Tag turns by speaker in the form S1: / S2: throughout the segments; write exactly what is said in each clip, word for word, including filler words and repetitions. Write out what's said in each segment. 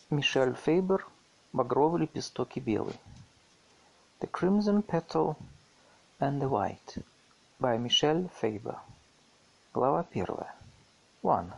S1: Мишель Фейбер, «Багровый лепесток и белый». The Crimson Petal and the White by Michelle Faber. Глава первая. One.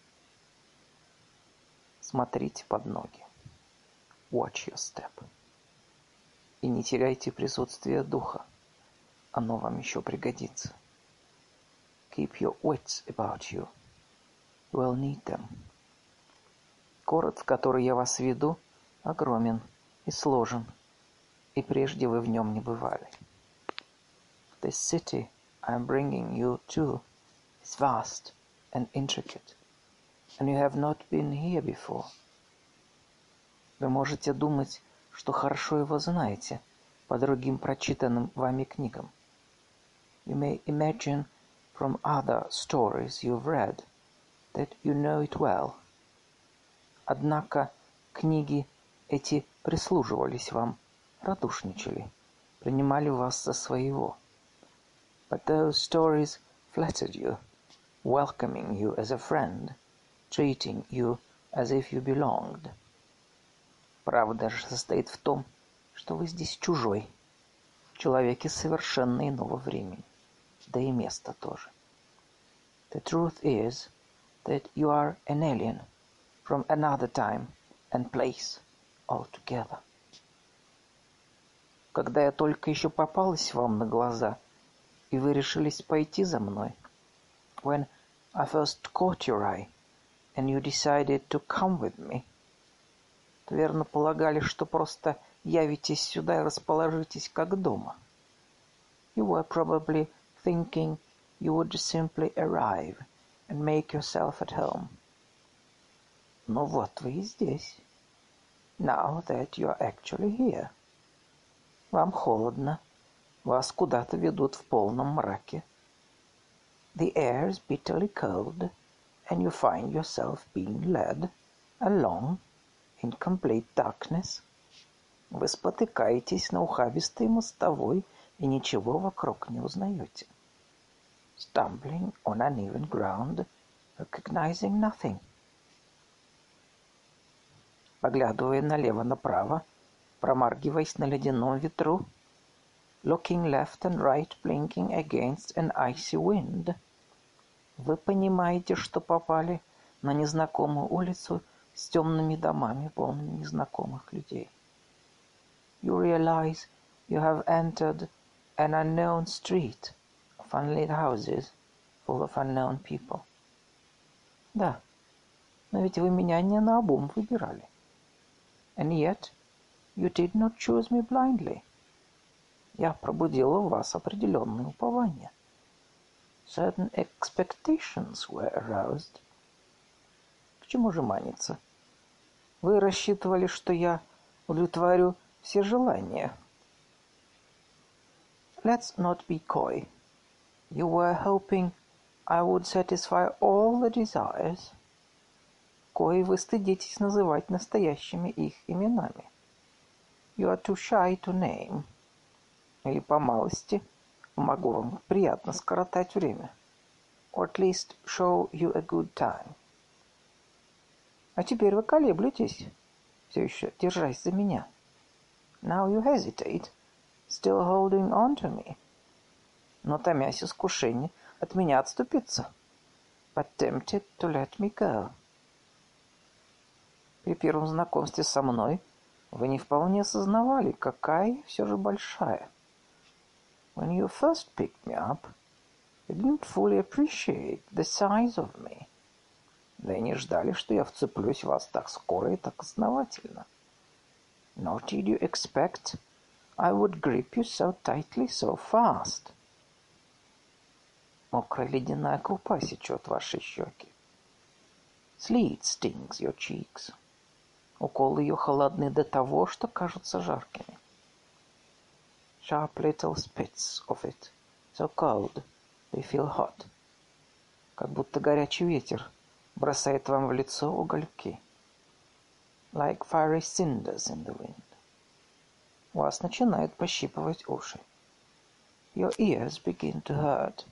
S1: Смотрите под ноги. Watch your step. И не теряйте присутствие духа. Оно вам еще пригодится. Keep your wits about you. You will need them. Город, в который я вас веду, огромен и сложен, и прежде вы в нем не бывали. This city I am bringing you to is vast and intricate, and you have not been here before. Вы можете думать, что хорошо его знаете по другим прочитанным вами книгам. You may imagine from other stories you've read that you know it well. Однако книги эти прислуживались вам, радушничали, принимали вас за своего. But those stories flattered you, welcoming you as a friend, treating you as if you belonged. Правда же состоит в том, что вы здесь чужой, человек из совершенно иного времени, да и места тоже. The truth is that you are an alien from another time and place altogether. Когда я только еще попалась вам на глаза, и вы решились пойти за мной, when I first caught your eye, and you decided to come with me, то верно полагали, что просто явитесь сюда и расположитесь как дома. You were probably thinking you would simply arrive and make yourself at home. Но вот вы и здесь. Now that you are actually here. Вам холодно. Вас куда-то ведут в полном мраке. The air is bitterly cold, and you find yourself being led along in complete darkness. Вы спотыкаетесь на ухабистой мостовой и ничего вокруг не узнаете. Stumbling on uneven ground, recognizing nothing. Поглядывая налево-направо, промаргиваясь на ледяном ветру, looking left and right, blinking against an icy wind, вы понимаете, что попали на незнакомую улицу с темными домами, полными незнакомых людей. You realize you have entered an unknown street of unlit houses full of unknown people. Да, но ведь вы меня не наобум выбирали. And yet, you did not choose me blindly. Я пробудила в вас определенные упования. Certain expectations were aroused. К чему же маниться? Вы рассчитывали, что я удовлетворю все желания. Let's not be coy. You were hoping I would satisfy all the desires. Кои вы стыдитесь называть настоящими их именами. You are too shy to name. Или по малости могу вам приятно скоротать время. Or at least show you a good time. А теперь вы колеблетесь, все еще держась за меня. Now you hesitate, still holding on to me. Но томясь искушение от меня отступиться. But tempted to let me go. При первом знакомстве со мной вы не вполне осознавали, какая все же большая. When you first picked me up, you didn't fully appreciate the size of me. Да и не ждали, что я вцеплюсь в вас так скоро и так основательно. Nor did you expect I would grip you so tightly so fast. Мокрая ледяная крупа сечет ваши щеки. Sleet stings your cheeks. Уколы ее холодны до того, что кажутся жаркими. Sharp little spits of it, so cold they feel hot. Как будто горячий ветер бросает вам в лицо угольки. Like fiery cinders in the wind. Вас начинают пощипывать уши. Your ears begin to hurt.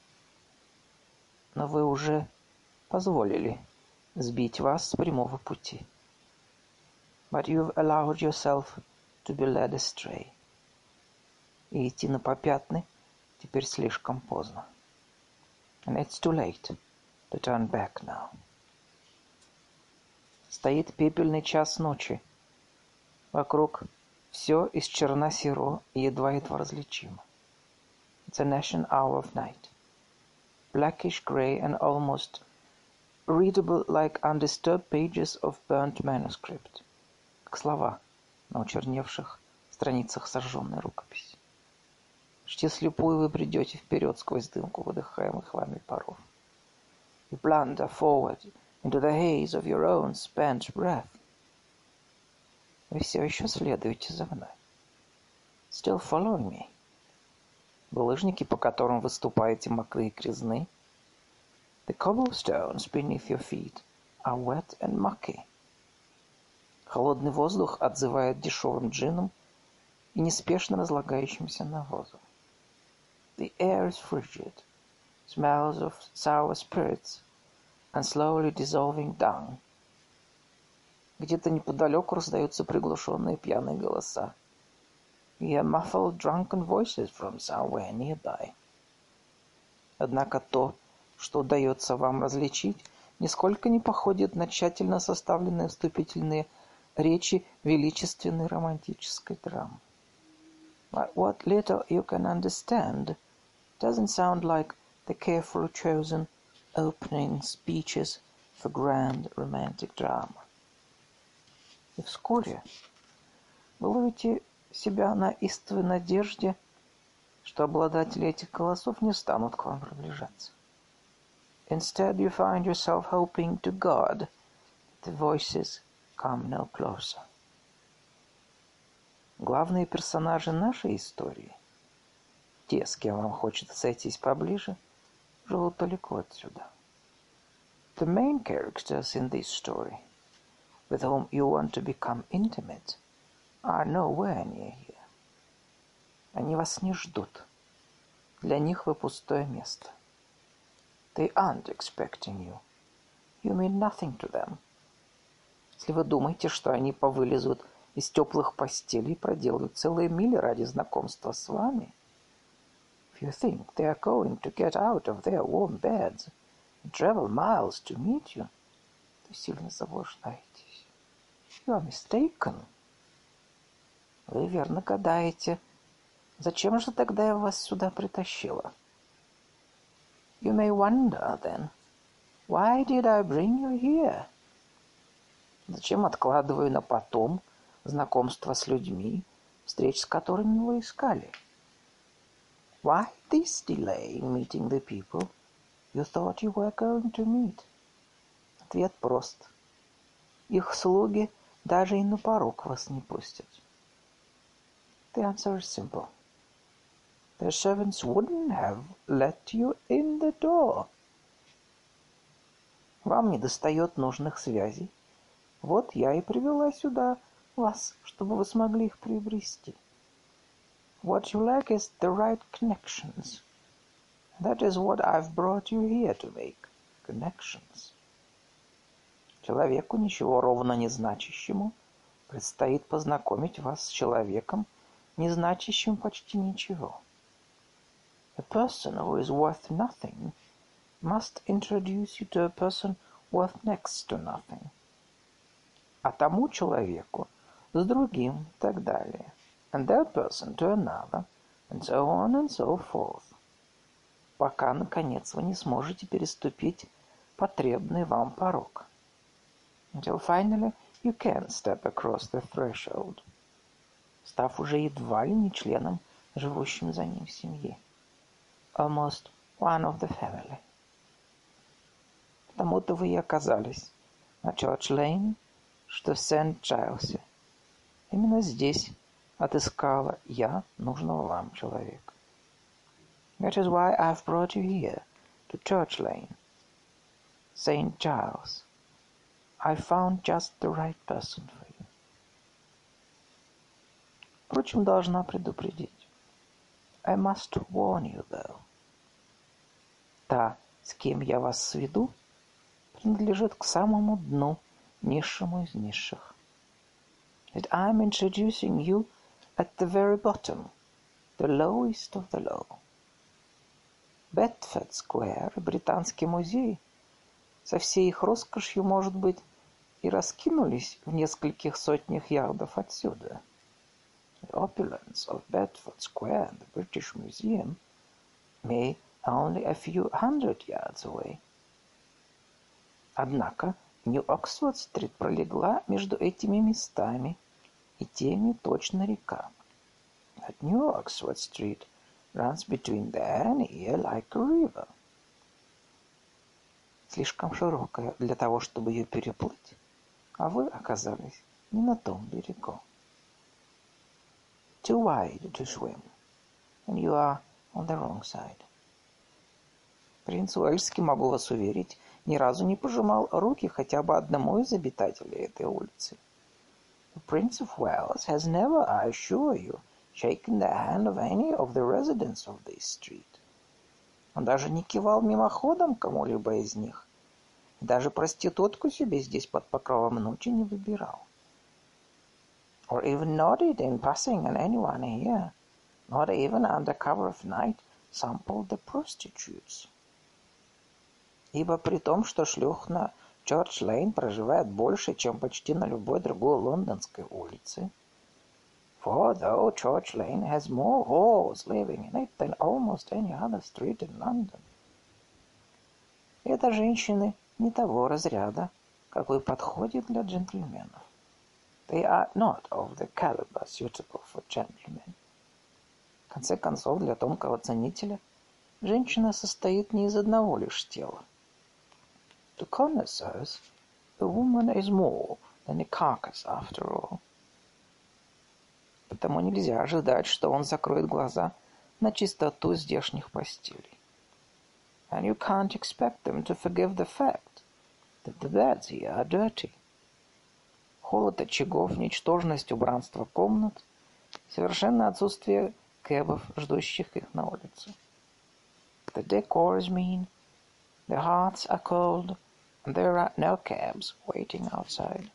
S1: Но вы уже позволили сбить вас с прямого пути. But you've allowed yourself to be led astray. И идти на попятный теперь слишком поздно. And it's too late to turn back now. Стоит пепельный час ночи. Вокруг все из черно-серо и едва-едва различимо. It's an ashen hour of night. Blackish grey and almost readable like undisturbed pages of burnt manuscript. Как слова на учерневших страницах сожженной рукописи. Почти слепую вы бредете вперед сквозь дымку выдыхаемых вами паров. You blunder forward into the haze of your own spent breath. Вы все еще следуете за мной. Still following me. Булыжники, по которым вы ступаете, мокрые и грязны. The cobblestones beneath your feet are wet and mucky. Холодный воздух отзывает дешевым джином и неспешно разлагающимся навозом. The air is frigid, smells of sour spirits and slowly dissolving dung. Где-то неподалеку раздаются приглушенные пьяные голоса. You hear muffled drunken voices from somewhere nearby. Однако то, что удается вам различить, нисколько не походит на тщательно составленные вступительные речи величественной романтической драмы. But what little you can understand doesn't sound like the carefully chosen opening speeches for grand romantic drama. И вскоре вы ловите себя на истовой надежде, что обладатели этих голосов не станут к вам приближаться. Instead, you find yourself hoping to God that the voices come no closer. Главные персонажи нашей истории, те, с кем вам хочется сойтись поближе, живут далеко отсюда. The main characters in this story, with whom you want to become intimate, are nowhere near here. Они вас не ждут. Для них вы пустое место. They aren't expecting you. You mean nothing to them. Если вы думаете, что они повылезут из теплых постелей и проделают целые мили ради знакомства с вами, if you think they are going to get out of their warm beds and travel miles to meet you, то сильно заблуждаетесь. You are mistaken. Вы верно гадаете, зачем же тогда я вас сюда притащила? You may wonder, then, why did I bring you here? Зачем откладываю на потом знакомство с людьми, встреч с которыми вы искали? Why this delay in meeting the people you thought you were going to meet? Ответ прост. Их слуги даже и на порог вас не пустят. The answer is simple. Their servants wouldn't have let you in the door. Вам недостает нужных связей. Вот я и привела сюда вас, чтобы вы смогли их приобрести. What you lack is the right connections. That is what I've brought you here to make. Connections. Человеку, ничего ровно не значащему, предстоит познакомить вас с человеком, не значащим почти ничего. A person who is worth nothing must introduce you to a person worth next to nothing. А тому человеку с другим и так далее. And that person to another, and so on and so forth. Пока, наконец, вы не сможете переступить потребный вам порог. Until finally you can step across the threshold, став уже едва ли не членом, живущим за ним в семье. Almost one of the family. Потому-то вы и оказались на Чёрч-Лейн, что в Сент-Джайлсе. Именно здесь отыскала я нужного вам человека. That is why I've brought you here, to Church Lane, Saint Giles. I found just the right person for you. Впрочем, должна предупредить. I must warn you, though. Та, с кем я вас сведу, принадлежит к самому дну, низшему из низших. that I'm introducing you at the very bottom, the lowest of the low. Бетфорд-сквер и Британский музей со всей их роскошью, может быть, и раскинулись в нескольких сотнях ярдов отсюда. The opulence of Bedford Square and the British Museum may only a few hundred yards away. Однако Нью-Оксфорд-стрит пролегла между этими местами, и теми точно река. But New Oxford Street runs between there and here like a river. Слишком широкая для того, чтобы ее переплыть, а вы оказались не на том берегу. Too wide to swim, and you are on the wrong side. Принц Уэльский, могу вас уверить, ни разу не пожимал руки хотя бы одному из обитателей этой улицы. The Prince of Wales has never, I assure you, shaken the hand of any of the residents of this street. Он даже не кивал мимоходом кому-либо из них, даже проститутку себе здесь под покровом ночи не выбирал. Or even nodded in passing on anyone here, not even under cover of night sampled the prostitutes. Ибо при том, что шлюх на Чёрч-Лейн проживает больше, чем почти на любой другой лондонской улице. For though Church Lane has more whores living in it than almost any other street in London. Это женщины не того разряда, какой подходит для джентльменов. They are not of the caliber suitable for gentlemen. В конце концов, для тонкого ценителя женщина состоит не из одного лишь тела. To connoisseurs, a woman is more than a carcass after all. Потому нельзя ожидать, что он закроет глаза на чистоту здешних постелей. And you can't expect them to forgive the fact that the beds here are dirty. Холод очагов, ничтожность убранства комнат, совершенное отсутствие кэбов, ждущих их на улице. The decor is mean, the hearts are cold, and there are no cabs waiting outside.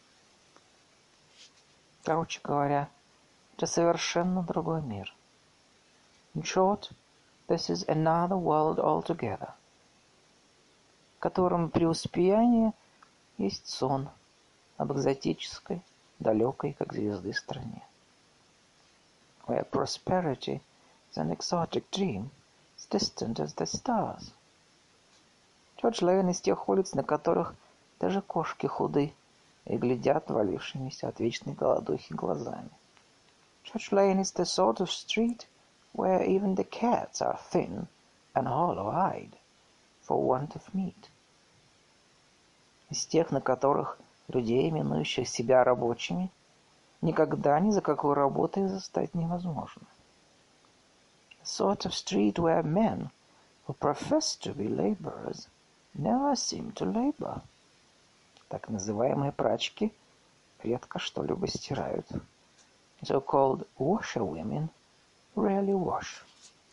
S1: Короче говоря, это совершенно другой мир. In short, this is another world altogether, в котором преуспеяние есть сон об экзотической, далекой, как звезды, стране. Where prosperity is an exotic dream, as distant as the stars. Чёрч-Лейн из тех улиц, на которых даже кошки худы и глядят валившимися от вечной голодухи глазами. Church Lane is the sort of street where even the cats are thin and hollow-eyed for want of meat. Из тех, на которых людей, именующих себя рабочими, никогда ни за какой работой застать невозможно. A sort of street where men who profess to be laborers never seem to labor. Так называемые прачки редко что-либо стирают. So-called washerwomen rarely wash.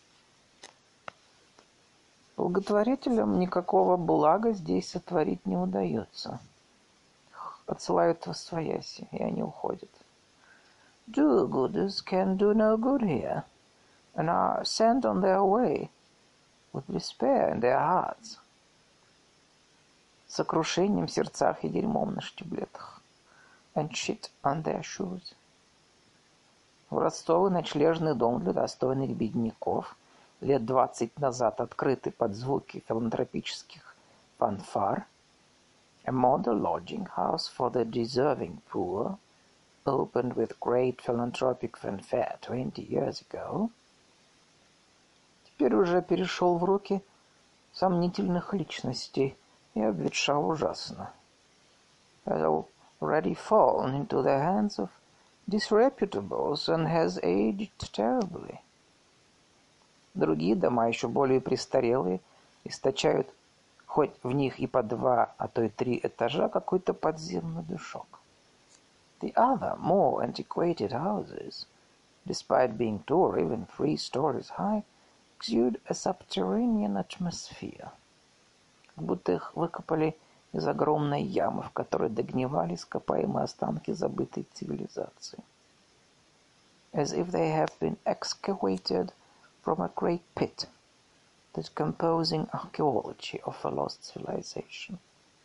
S1: Благотворителям никакого блага здесь сотворить не удается. Отсылают восвояси, и они уходят. Do-gooders can do no good here, and are sent on their way with despair in their hearts. Сокрушением в сердцах и дерьмом на штиблетах. And shit on their shoes. Образцовый ночлежный дом для достойных бедняков, лет двадцать назад открытый под звуки филантропических фанфар, a model lodging house for the deserving poor, opened with great philanthropic fanfare twenty years ago, теперь уже перешел в руки сомнительных личностей и обветшал ужасно. Has already fallen into the hands of disreputables and has aged terribly. Другие дома, еще более престарелые, источают хоть в них и по два, а то и три этажа, какой-то подземный душок. The other, more antiquated houses, despite being two or even three stories high, exude a subterranean atmosphere. Как будто их выкопали из огромной ямы, в которой догнивали ископаемые останки забытой цивилизации. As if they have been excavated from a great pit, the decomposing archaeology of a lost civilization.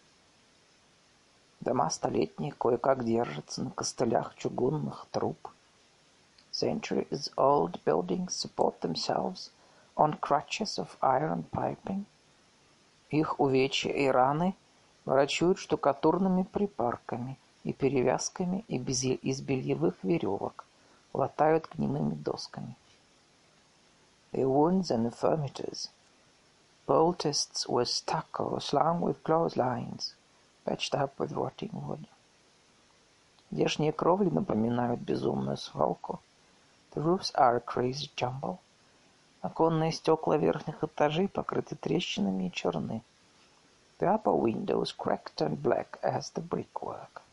S1: Дома столетние кое-как держатся на костылях чугунных труб. Centuries-old buildings support themselves on crutches of iron piping. Их увечья и раны врачуют штукатурными припарками и перевязками из бельевых веревок, латают гнилыми досками. Their wounds and infirmities, poulticed with stucco, slung with clotheslines, patched up with rotting wood. Здешние кровли напоминают безумную свалку. The roofs are a crazy jumble. Оконные стекла верхних этажей покрыты трещинами и черны. The upper windows cracked and black as the brickwork.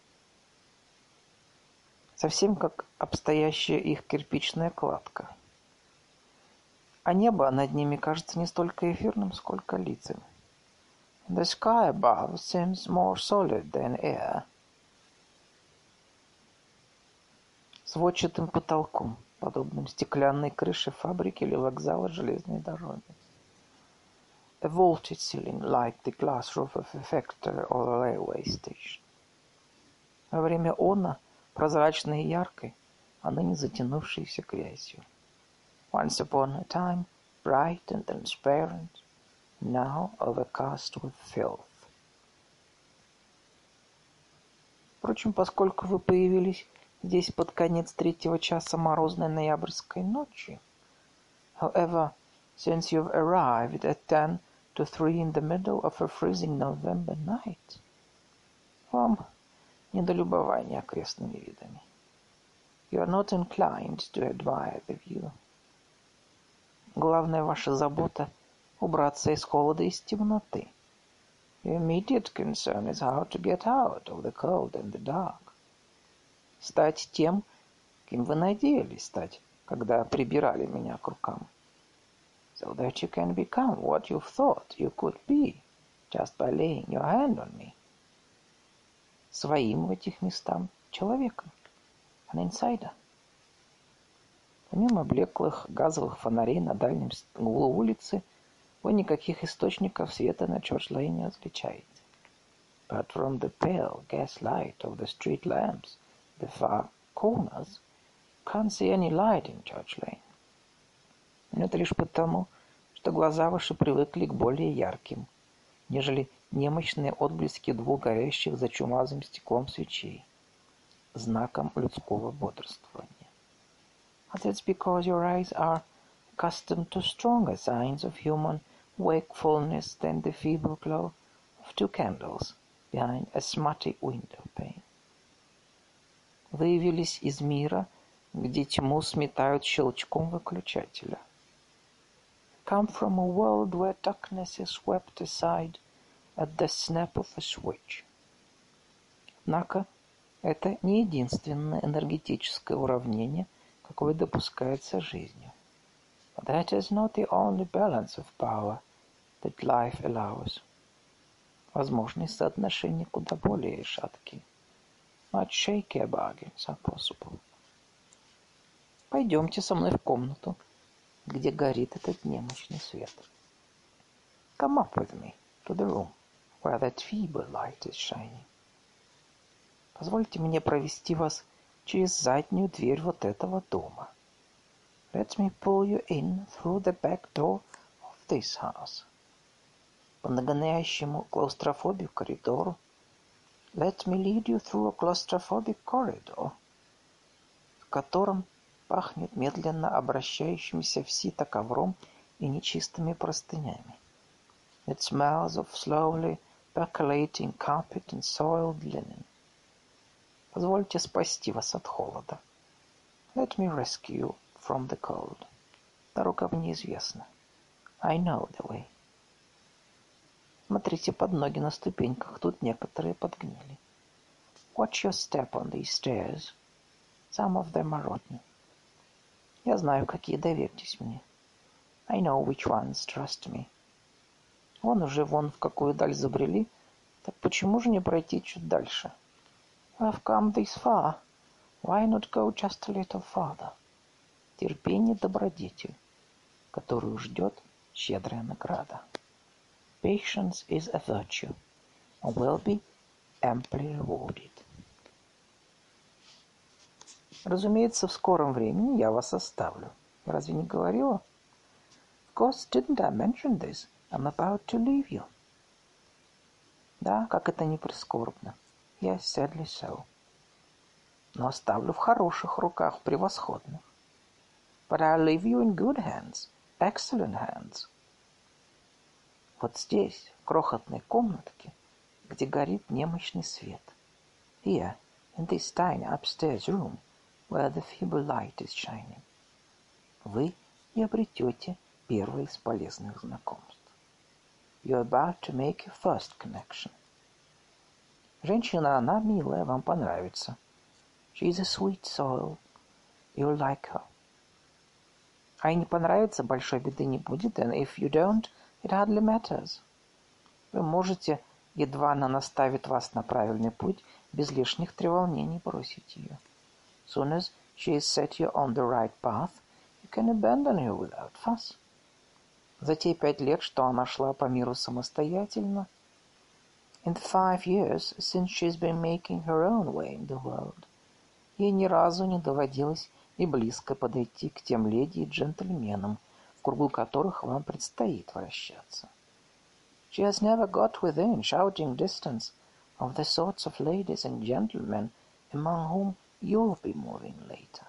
S1: Совсем как обстоящая их кирпичная кладка. А небо над ними кажется не столько эфирным, сколько лицами. The sky above seems more solid than air. Сводчатым потолком, подобным стеклянной крыше фабрики или вокзала железной дороги. A vaulted ceiling like the glass roof of a factory or a railway station. Во время она прозрачной и яркой, а ныне затянувшейся грязью. Once upon a time, bright and transparent, now overcast with filth. Впрочем, поскольку вы появились здесь под конец третьего часа морозной ноябрьской ночи, however, since you've arrived at ten to three in the middle of a freezing November night, вам не до любования окрестными видами. You are not inclined to admire the view. Главная ваша забота — убраться из холода и из темноты. Your immediate concern is how to get out of the cold and the dark. Стать тем, кем вы надеялись стать, когда прибирали меня к рукам. So that you can become what you thought you could be, just by laying your hand on me. Своим в этих местах человеком. An insider. Помимо блеклых газовых фонарей на дальнем углу улицы, вы никаких источников света на Чорч-Лейн не различаете. But from the pale gas light of the street lamps, the far corners, can't see any light in Church-Lane. Это лишь потому, что глаза ваши привыкли к более ярким, нежели немощные отблески двух горящих за чумазым стеклом свечей, знаком людского бодрствования. But it's because your eyes are accustomed to stronger signs of human wakefulness than the feeble glow of two candles behind a smutty window pane. Вы явились из мира, где тьму сметают щелчком выключателя. Come from a world where darkness is swept aside at the snap of a switch. Однако это не единственное энергетическое уравнение, какое допускается жизнью. But that is not the only balance of power that life allows. Возможные соотношения куда более шаткие. Much shakier bargains are possible. Пойдемте со мной в комнату, где горит этот немощный свет. Come up with me to the room where that feeble light is shining. Позвольте мне провести вас через заднюю дверь вот этого дома. Let me pull you in through the back door of this house. По нагоняющему клаустрофобию коридору. Let me lead you through a claustrophobic corridor, в котором пахнет медленно обращающимся в сито ковром и нечистыми простынями. It smells of slowly percolating carpet and soiled linen. Позвольте спасти вас от холода. Let me rescue you from the cold. Дорога мне известна. I know the way. Смотрите под ноги на ступеньках, тут некоторые подгнили. Watch your step on these stairs. Some of them are rotten. Я знаю, какие, доверьтесь мне. I know which ones, trust me. Вон уже вон в какую даль забрели, Так почему же не пройти чуть дальше? I've come this far. Why not go just a little farther? Терпение – добродетель, которую ждет щедрая награда. Patience is a virtue and will be amply rewarded. Разумеется, в скором времени я вас оставлю. Разве не говорила? Of course, didn't I mention this? I'm about to leave you. Да, как это не прискорбно. Yes, sadly so. Но оставлю в хороших руках, превосходных. But I'll leave you in good hands, excellent hands. Вот здесь, в крохотной комнатке, где горит немощный свет. Here, in this tiny upstairs room, where the feeble light is shining. Вы и обретете первое из полезных знакомств. You're about to make your first connection. Женщина, она милая, вам понравится. She's a sweet soul. You'll like her. А и не понравится, большой беды не будет, and if you don't, it hardly matters. Вы можете, едва она наставит вас на правильный путь, без лишних треволнений бросить ее. Soon as she has set you on the right path, you can abandon her without fuss. За те пять лет, что она шла по миру самостоятельно, in the five years since she's been making her own way in the world, ей ни разу не доводилось и близко подойти к тем леди и джентльменам, в кругу которых вам предстоит вращаться. She has never got within shouting distance of the sorts of ladies and gentlemen among whom you'll be moving later.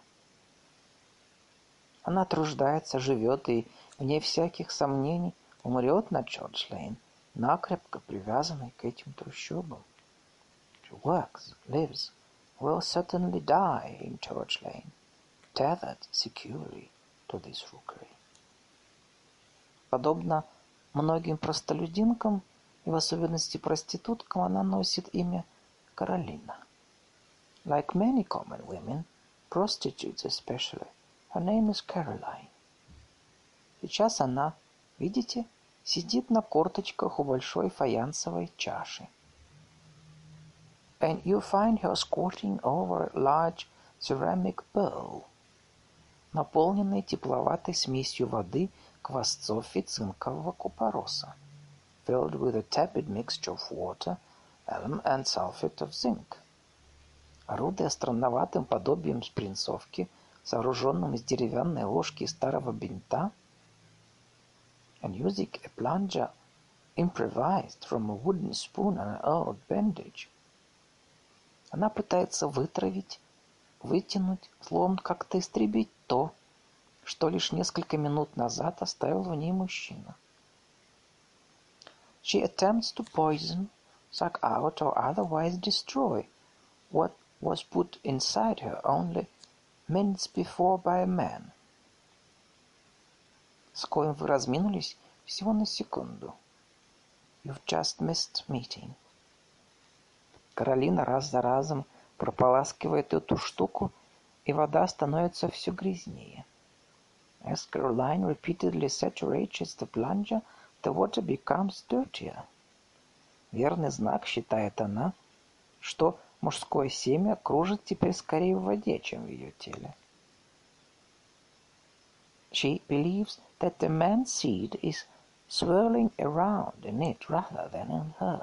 S1: Она труждается, живет и, вне всяких сомнений, умрет на Чорч-Лейн, накрепко привязанной к этим трущобам. She works, lives, will certainly die in Church Lane, tethered securely to this rookery. Подобно многим простолюдинкам, и в особенности проституткам, она носит имя Каролина. Like many common women, prostitutes especially, her name is Caroline. Сейчас она, видите, сидит на корточках у большой фаянсовой чаши. And you find her squatting over a large ceramic bowl, наполненной тепловатой смесью воды, квасцов и цинкового купороса, filled with a tepid mixture of water, alum and sulfate of zinc. Орудуя странноватым подобием спринцовки, сооруженным из деревянной ложки и старого бинта, and using a plunger improvised from a wooden spoon and an old bandage, она пытается вытравить, вытянуть, словом, как-то истребить то, что лишь несколько минут назад оставил в ней мужчина. She attempts to poison, suck out, or otherwise destroy what was put inside her only minutes before by a man, с коим вы разминулись всего на секунду. You've just missed meeting. Каролина раз за разом прополаскивает эту штуку, и вода становится все грязнее. As Caroline repeatedly saturates the plunger, the water becomes dirtier. Верный знак, считает она, что мужское семя кружит теперь скорее в воде, чем в ее теле. She believes that the man's seed is swirling around in it rather than in her.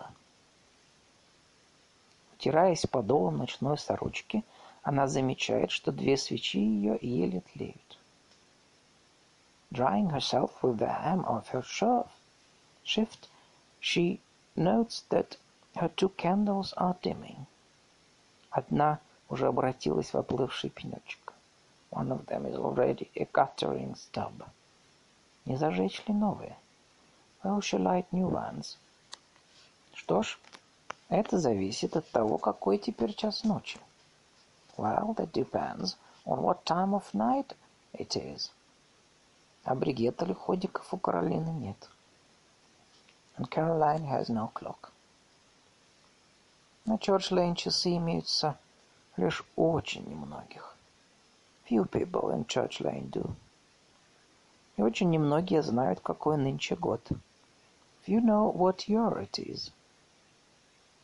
S1: Утираясь подолом ночной сорочки, она замечает, что две свечи ее еле тлеют. Drying herself with the hem of her shift, she notes that her two candles are dimming. Одна уже обратилась в оплывший пенечек. One of them is already a guttering stub. Не зажечь ли новые? Will she light new ones? Что ж, это зависит от того, какой теперь час ночи. Well, that depends on what time of night it is. А бригет или ходиков у Каролины нет. And Caroline has no clock. На Чорч-Лейн часы имеются лишь у очень немногих. Few people in Church Lane do. И очень немногие знают, какой нынче год. Few know what year it is.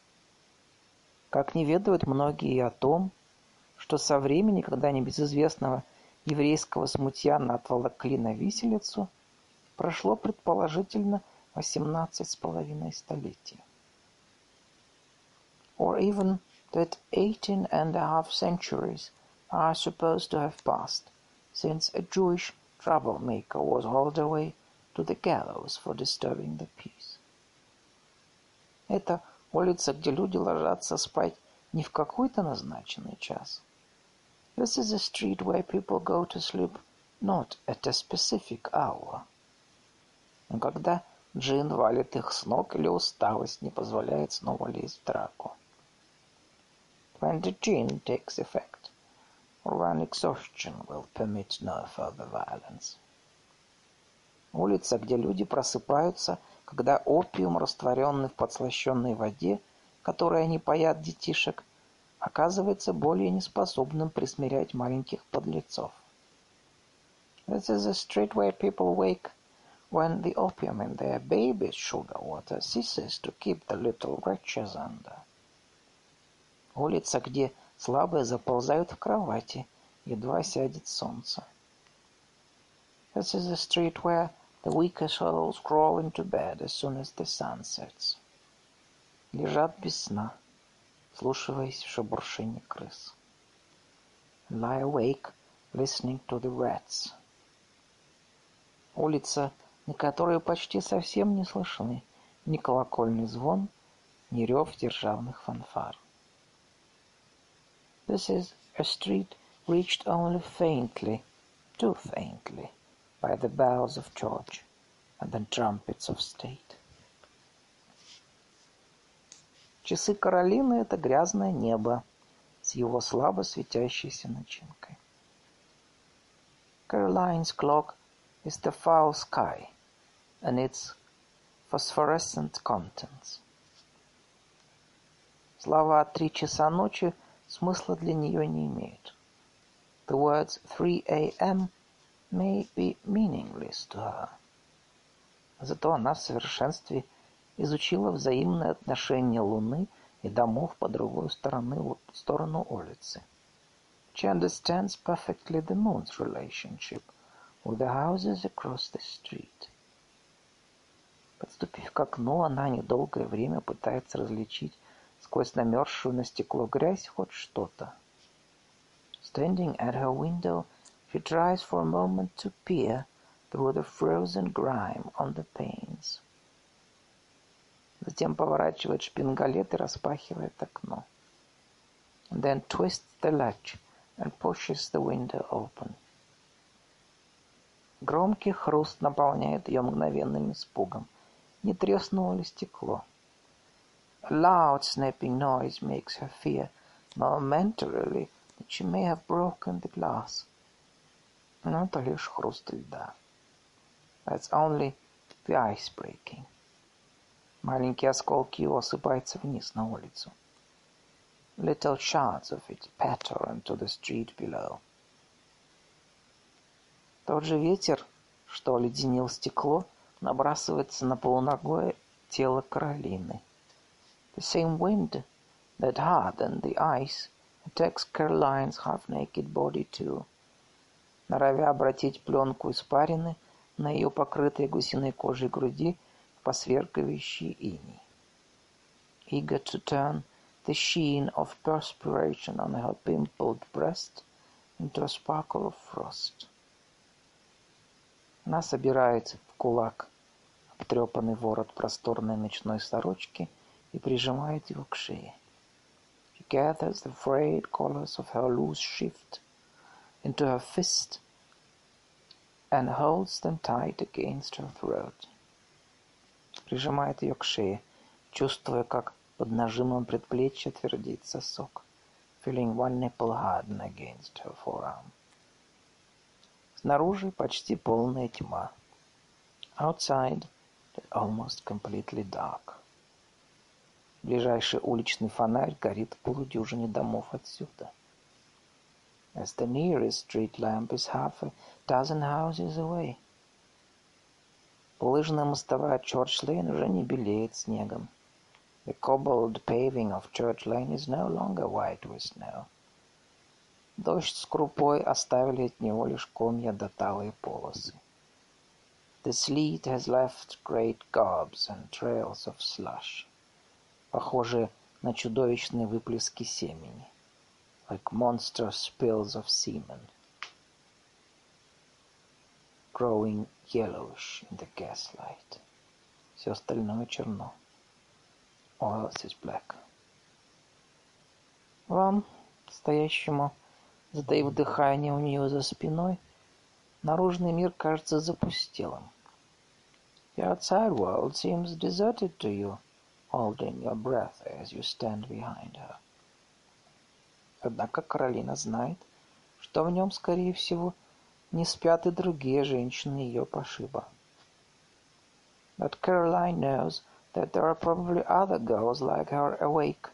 S1: как не ведают многие и о том, что со времени, когда небезызвестного еврейского смутьяна отволокли на виселицу, прошло предположительно восемнадцать с половиной столетий. Or even that eighteen and a half centuries are supposed to have passed since a Jewish troublemaker was hauled away to the gallows for disturbing the peace. Это улица, где люди ложатся спать не в какой-то назначенный час. This is a street where people go to sleep not at a specific hour. Но когда джин валит их с ног или усталость не позволяет снова лезть в драку. When the gin takes effect, or when exhaustion will permit no further violence. Улица, где люди просыпаются, когда опиум, растворенный в подслащенной воде, которой они паят детишек, оказывается более неспособным присмирять маленьких подлецов. This is a street where people wake when the opium in their baby's sugar water ceases to keep the little wretches under. Улица, где слабые заползают в кровати, едва сядет солнце. This is a street where the weaker souls crawl into bed as soon as the sun sets. Лежат без сна, вслушиваясь в шебуршение крыс. Lie awake, listening to the rats. Улица, на которой почти совсем не слышны ни колокольный звон, ни рев державных фанфар. This is a street reached only faintly, too faintly, by the bells of church and the trumpets of state. Часы Каролины — это грязное небо с его слабо светящейся начинкой. Caroline's clock is the foul sky and its phosphorescent contents. Слова «три часа ночи» смысла для нее не имеют. The words three a.m. may be meaningless to her. Зато она в совершенстве изучила взаимные отношения Луны и домов по другую сторону, сторону улицы. She understands perfectly the moon's relationship with the houses across the street. Подступив к окну, она недолгое время пытается различить сквозь намерзшую на стекло грязь хоть что-то. Standing at her window, she tries for a moment to peer through the frozen grime on the panes. Затем поворачивает шпингалет и распахивает окно. And then twists the latch and pushes the window open. Громкий хруст наполняет ее мгновенным испугом. Не треснуло ли стекло? A loud snapping noise makes her fear momentarily that she may have broken the glass. Но это лишь хруст льда. That's only the ice breaking. Маленькие осколки его осыпаются вниз на улицу. Little shards of it patter into the street below. Тот же ветер, что оледенил стекло, набрасывается на полуногое тело Каролины. The same wind that hardened the ice attacks Caroline's half-naked body too, норовя обратить пленку испарины на ее покрытой гусиной кожей груди в посверкивающий иней. Eager to turn the sheen of perspiration on her pimpled breast into a sparkle of frost. Она собирает в кулак обтрепанный ворот просторной ночной сорочки и прижимает его к шее. She gathers the frayed collars of her loose shift into her fist and holds them tight against her throat. Прижимает ее к шее, чувствуя, как под нажимом предплечья твердит сосок, feeling one nipple harden against her forearm. Снаружи почти полная тьма. Outside, almost completely dark. Ближайший уличный фонарь горит в полудюжине домов отсюда. As the nearest street lamp is half a dozen houses away. Булыжная мостовая Чорч-Лейн уже не белеет снегом. The cobbled paving of Church Lane is no longer white with snow. Дождь с крупой оставили от него лишь комья да талые полосы. The sleet has left great gobs and trails of slush, похожие на чудовищные выплески семени, like monster spills of semen, growing yellowish in the gaslight. Все остальное черно. All else is black. Вам, стоящему, затаив дыхание у нее за спиной, наружный мир кажется запустелым. The outside world seems deserted to you, holding your breath as you stand behind her. Однако Каролина знает, что в нем, скорее всего, не спят и другие женщины ее пошиба. But Caroline knows that there are probably other girls like her awake.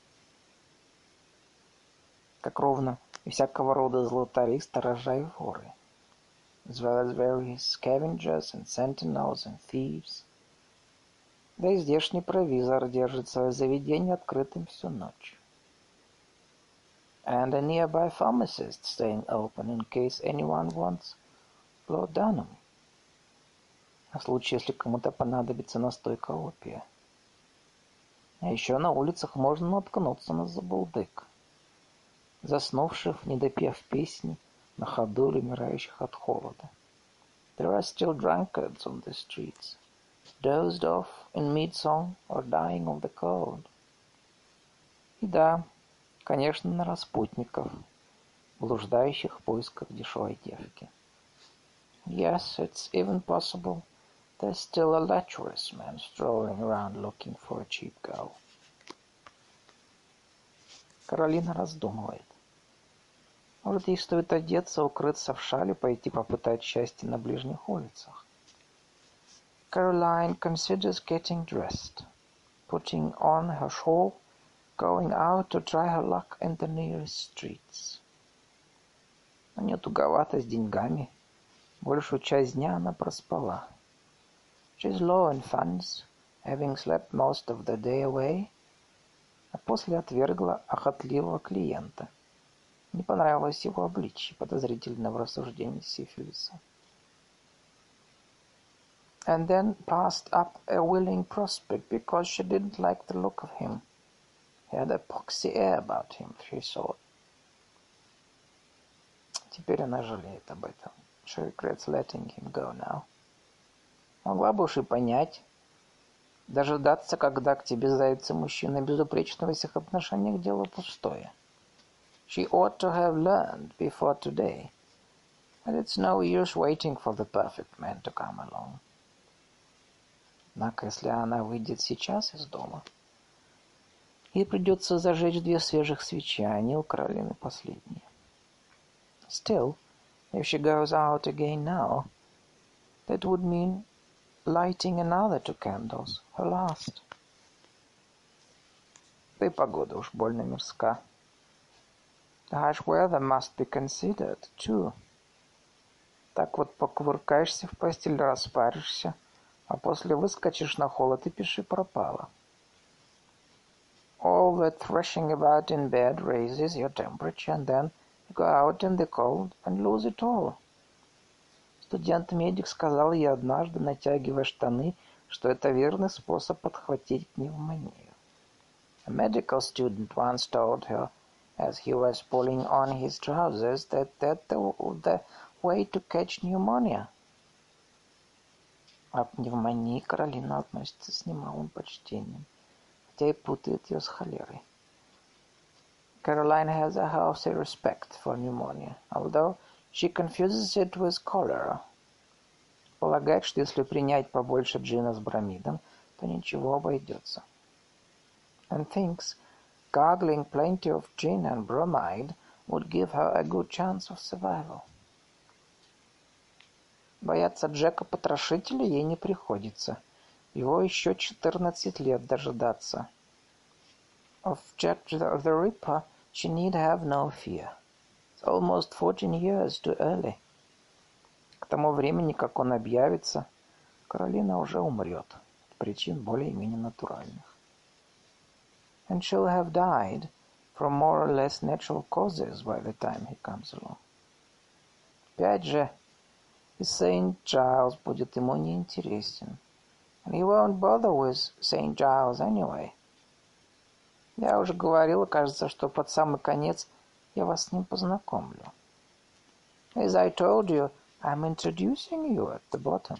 S1: Как ровно и всякого рода златари, сторожа и воры, as well as various scavengers and sentinels and thieves. Да и здешний провизор держит свое заведение открытым всю ночь. And a nearby pharmacist staying open in case anyone wants laudanum. На случай, если кому-то понадобится настойка опия. А еще на улицах можно наткнуться на забулдык, заснувших, не допев песни, на ходу или умирающих от холода. There are still drunkards on the streets, dozed off in mid-song or dying of the cold. И да, конечно, на распутников, блуждающих в поисках дешевой девки. Yes, it's even possible there's still a lecherous man strolling around looking for a cheap girl. Каролина раздумывает. Может, ей стоит одеться, укрыться в шале, пойти попытать счастье на ближних улицах. Caroline considers getting dressed, putting on her shawl, going out to try her luck in the nearest streets. У нее туговато с деньгами. Большую часть дня она проспала. She's low in funds, having slept most of the day away, а после отвергла охотливого клиента. Не понравилось его обличье, подозрительно в рассуждении сифилиса. And then passed up a willing prospect because she didn't like the look of him. He had a poxy air about him, she thought. Теперь она жалеет об этом. She regrets letting him go now. Могла бы уж и понять. Дожидаться, когда к тебе заявится мужчина безупречного в всех отношениях, дело пустое. She ought to have learned before today that it's no use waiting for the perfect man to come along. Однако, если она выйдет сейчас из дома, ей придется зажечь две свежих свечи, а они у Каролины последние. Still, if she goes out again now, that would mean lighting another two candles, her last. Да и погода уж больно мирска. The harsh weather must be considered, too. Так вот покувыркаешься в постель, распаришься, а после выскочишь на холод и пиши пропало. All that thrashing about in bed raises your temperature, and then you go out in the cold and lose it all. Студент-медик сказал ей однажды, натягивая штаны, что это верный способ подхватить пневмонию. A medical student once told her, as he was pulling on his trousers, that that's the, the way to catch pneumonia. А к пневмонии Каролина относится с немалым почтением, хотя и путает ее с холерой. Caroline has a healthy respect for pneumonia, although she confuses it with cholera. Полагает, что если принять побольше джина с бромидом, то ничего обойдется. And thinks gargling plenty of gin and bromide would give her a good chance of survival. Бояться Джека-потрошителя ей не приходится. Его еще четырнадцать лет дожидаться. Of Jack the Ripper she need have no fear. It's almost fourteen years too early. К тому времени, как он объявится, Каролина уже умрет от причин более-менее натуральных. and she'll have died from more or less natural causes by the time he comes along. Опять же, и Saint Giles будет ему неинтересен. And he won't bother with Saint Giles anyway. Я уже говорила, кажется, что под самый конец я вас с ним познакомлю. As I told you, I'm introducing you at the bottom.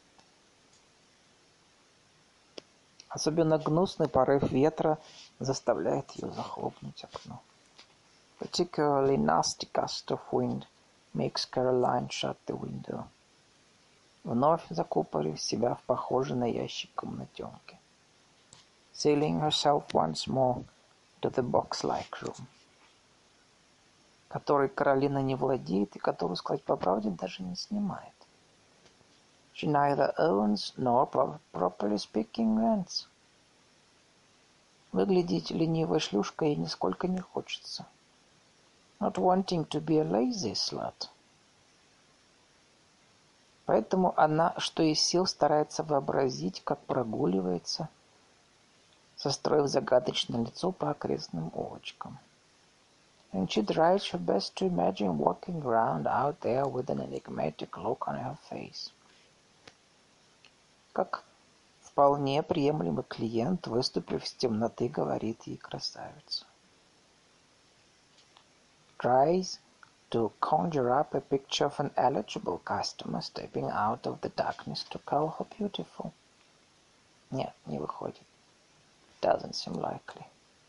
S1: Особенно гнусный порыв ветра заставляет ее захлопнуть окно. Particularly nasty gust of wind makes Caroline shut the window. Вновь закупорив себя в похожей на ящик комнатенке. Sealing herself once more to the box-like room, который Каролина не владеет и которую, сказать по правде, даже не снимает. She neither owns nor, properly speaking, rents. Выглядеть ленивой шлюшкой ей нисколько не хочется. Not wanting to be a lazy slut. Поэтому она, что из сил, старается вообразить, как прогуливается, состроив загадочное лицо по окрестным улочкам. And she tries her best to imagine walking around out there with an enigmatic look on her face. Как вполне приемлемый клиент, выступив из темноты, говорит ей красавица. Tries to conjure up a picture of an eligible customer stepping out of the darkness to call her beautiful. Нет, не выходит. Doesn't seem likely.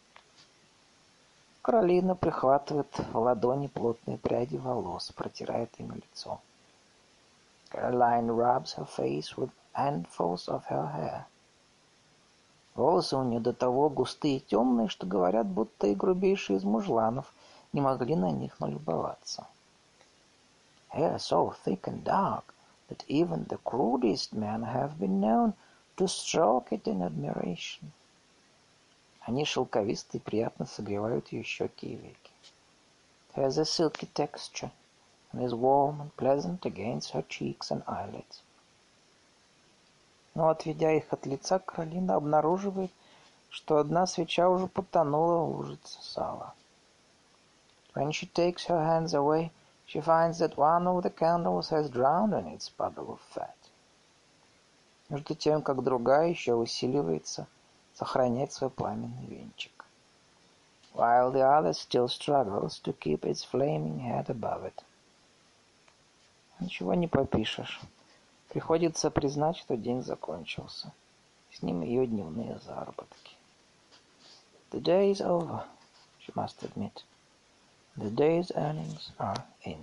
S1: Каролина прихватывает в ладони плотные пряди волос, протирает ими лицо. Caroline rubs her face with handfuls of her hair. Волосы у нее до того густые и темные, что говорят, будто и грубейшие из мужланов не могли на них налюбоваться. Hair so thick and dark that even the crudest men have been known to stroke it in admiration. Они шелковистые и приятно согревают ее щеки и веки. It has a silky texture and is warm and pleasant against her cheeks and eyelids. Но, отведя их от лица, Каролина обнаруживает, что одна свеча уже потонула в лужице сала. When she takes her hands away, she finds that one of the candles has drowned in its puddle of fat. Между тем, как другая еще усиливается сохранять свой пламенный венчик. While the other still struggles to keep its flaming head above it. Ничего не попишешь. Приходится признать, что день закончился. С ним ее дневные заработки. The day is over, she must admit. The day's earnings are in.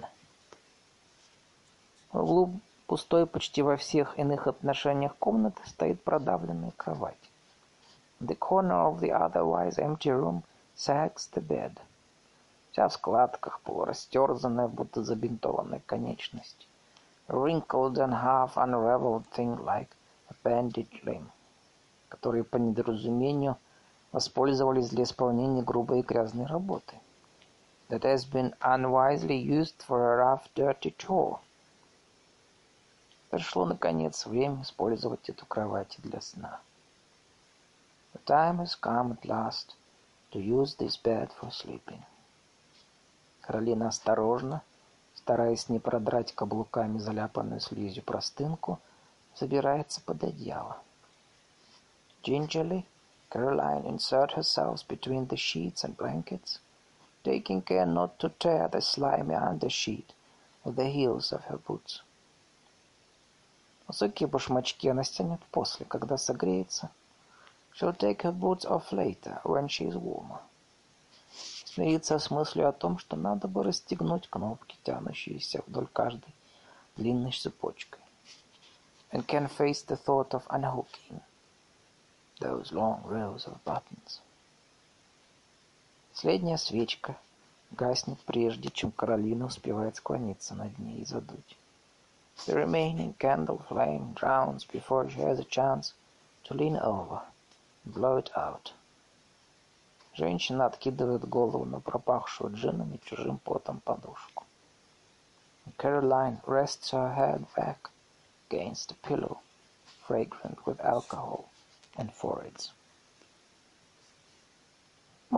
S1: В углу пустой почти во всех иных отношениях комнаты стоит продавленная кровать. In the corner of the otherwise empty room sags the bed. Вся в складках, полурастерзанная, будто забинтованная конечность. A wrinkled and half unraveled thing like a bandaged limb, которые по недоразумению воспользовались для исполнения грубой и грязной работы. That has been unwisely used for a rough, dirty chore. Пришло, наконец, время использовать эту кровать для сна. The time has come at last to use this bed for sleeping. Каролина осторожно, стараясь не продрать каблуками заляпанную слизью простынку, забирается под одеяло. Gingerly, Caroline inserts herself between the sheets and blankets, taking care not to tear the slimy undersheet with the heels of her boots. Высокие башмачки она стянет после, когда согреется. She'll take her boots off later, when she is warmer. Смириться с мыслью о том, что надо бы расстегнуть кнопки, тянущиеся вдоль каждой длинной цепочкой. And can face the thought of unhooking those long rows of buttons. Последняя свечка гаснет прежде, чем Каролина успевает склониться над ней и задуть. The remaining candle flame drowns before she has a chance to lean over and blow it out. Женщина откидывает голову на пропахшую джином и чужим потом подушку. And Caroline rests her head back against a pillow, fragrant with alcohol and foreheads.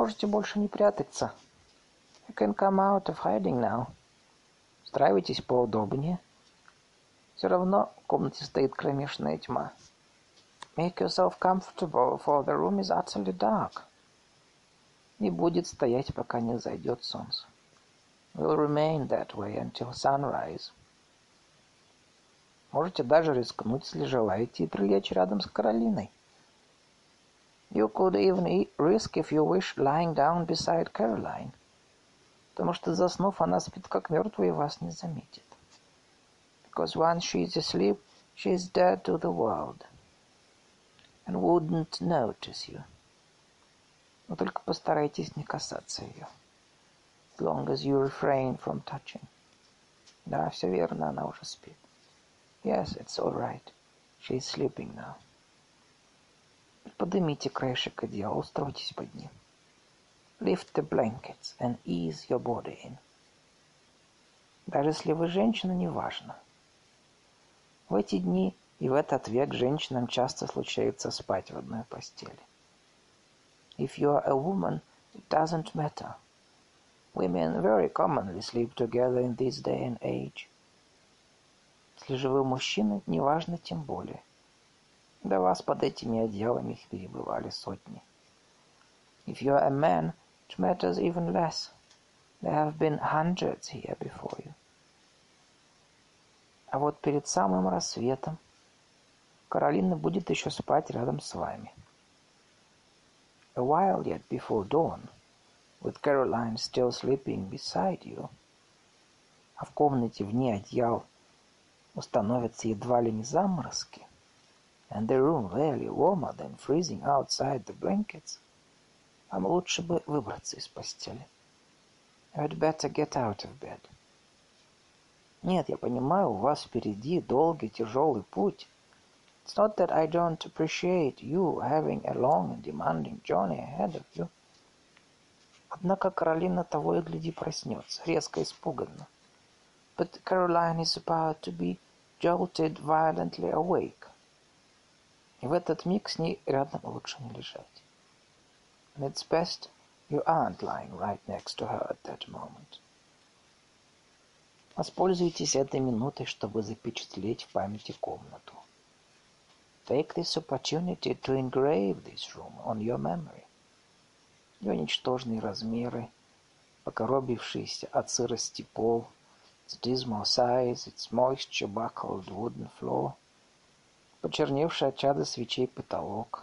S1: Можете больше не прятаться. You can come out of hiding now. Устраивайтесь поудобнее. Все равно в комнате стоит кромешная тьма. Make yourself comfortable, for the room is utterly dark. И будет стоять, пока не зайдет солнце. Will remain that way until sunrise. Можете даже рискнуть, если желаете, и прилечь рядом с Каролиной. You could even risk, if you wish, lying down beside Caroline. Потому что, заснув, она спит как мертвая и вас не заметит. Because once she is asleep, she is dead to the world. And wouldn't notice you. Но только постарайтесь не касаться ее. As long as you refrain from touching. Да, все верно, она уже спит. Yes, it's all right. She is sleeping now. Поднимите краешек одеяла, устройтесь под ним. Lift the blankets and ease your body in. Даже если вы женщина, неважно. В эти дни и в этот век женщинам часто случается спать в одной постели. If you are a woman, it doesn't matter. Women very commonly sleep together in this day and age. Если же вы мужчина, неважно тем более. До вас под этими одеялами их перебывали сотни. If you are a man, it matters even less. There have been hundreds here before you. А вот перед самым рассветом Каролина будет еще спать рядом с вами. A while yet before dawn, with Caroline still sleeping beside you, а в комнате вне одеял установятся едва ли не заморозки, and the room really warmer than freezing outside the blankets, вам лучше бы выбраться из постели. You'd better get out of bed. Нет, я понимаю, у вас впереди долгий, тяжелый путь. It's not that I don't appreciate you having a long and demanding journey ahead of you. Однако Каролина того и гляди проснется, резко испуганно. But Caroline is about to be jolted violently awake. И в этот миг с ней рядом лучше не лежать. And it's best you aren't lying right next to her at that moment. Воспользуйтесь этой минутой, чтобы запечатлеть в памяти комнату. Take this opportunity to engrave this room on your memory. Ее ничтожные размеры, покоробившийся от сырости пол, its dismal size, its moisture-buckled wooden floor, почерневший от чада свечей потолок,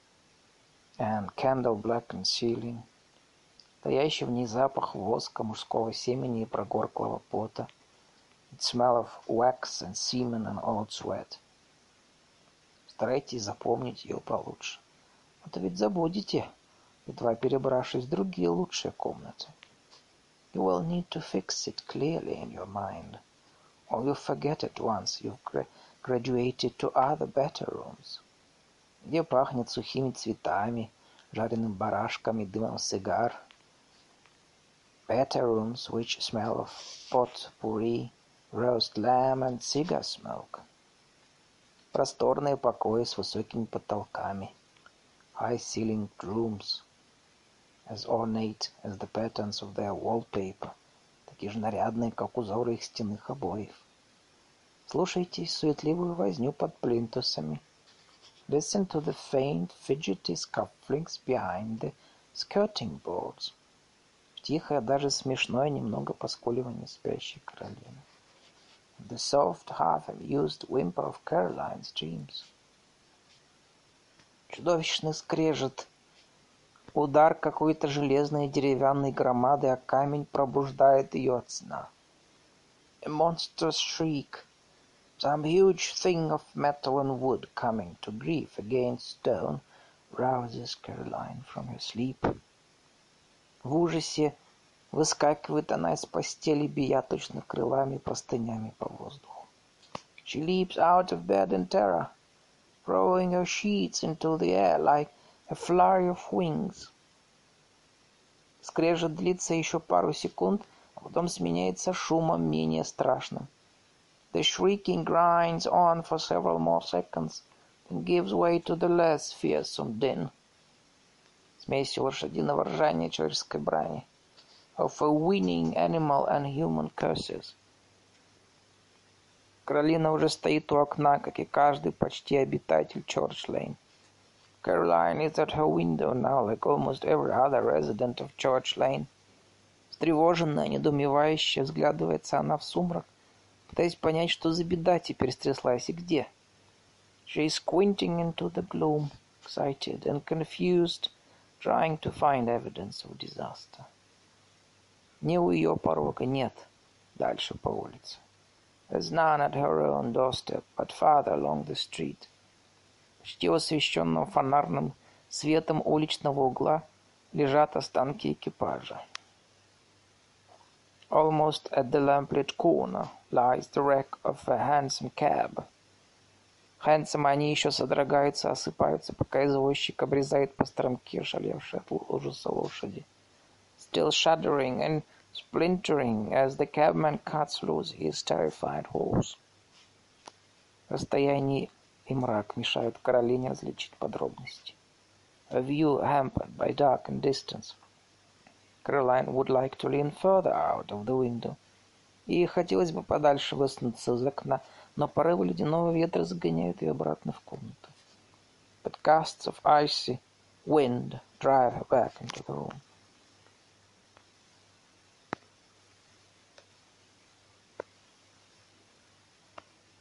S1: and candle-blackened ceiling, стоящий в ней запах воска, мужского семени и прогорклого пота, its smell of wax and semen and old sweat. Старайтесь запомнить ее получше. А то ведь забудете, едва перебравшись в другие лучшие комнаты. You will need to fix it clearly in your mind, or you'll forget it once you've gra- graduated to other better rooms, где пахнет сухими цветами, жареным барашком и дымом сигар. Better rooms which smell of pot-pourri, roast lamb and cigar smoke. Просторные покои с высокими потолками. High-ceilinged rooms, as ornate as the patterns of their wallpaper, такие же нарядные, как узоры их стенных обоев. Слушайте суетливую возню под плинтусами. Listen to the faint, fidgety scufflings behind the skirting boards. Тихое, даже смешное немного поскуливание спящей Каролины. The soft, half-amused whimper of Caroline's dreams. Чудовищный скрежет. Удар какой-то железной деревянной громады о камень пробуждает ее от сна. A monstrous shriek. Some huge thing of metal and wood coming to grief against stone rouses Caroline from her sleep. В ужасе выскакивает она из постели, бия точно крылами, простынями по воздуху. She leaps out of bed in terror, throwing her sheets into the air like a flurry of wings. Скрежет длится еще пару секунд, а потом сменяется шумом менее страшным. The shrieking grinds on for several more seconds, then gives way to the less fearsome din. смесью лошадиного ржания и человеческой брани. Of a winning animal and human curses. Каролина уже стоит у окна, как и каждый почти обитатель Чорч-Лейн. Caroline is at her window now, like almost every other resident of Church Lane. Встревоженная, недоумевающая, взглядывается она в сумрак, пытаясь понять, что за беда теперь стряслась и где. She is squinting into the gloom, excited and confused, trying to find evidence of disaster. Не у ее порога, нет, дальше по улице. There's none at her own doorstep, but farther along the street. Почти освещенного фонарным светом уличного угла лежат останки экипажа. Almost at the lamplit corner lies the wreck of a hansom cab. Хэнсом они еще содрогаются, осыпаются, пока извозчик обрезает по стромке шалевшие от ужаса лошади. Still shuddering and splintering as the cabman cuts loose his terrified horse. Расстояние и мрак мешают Каролине различить подробности. A view hampered by dark and distance. Caroline would like to lean further out of the window. Ей хотелось бы подальше высунуться из окна, но порывы ледяного ветра загоняют ее обратно в комнату. But gusts of icy wind drive her back into the room.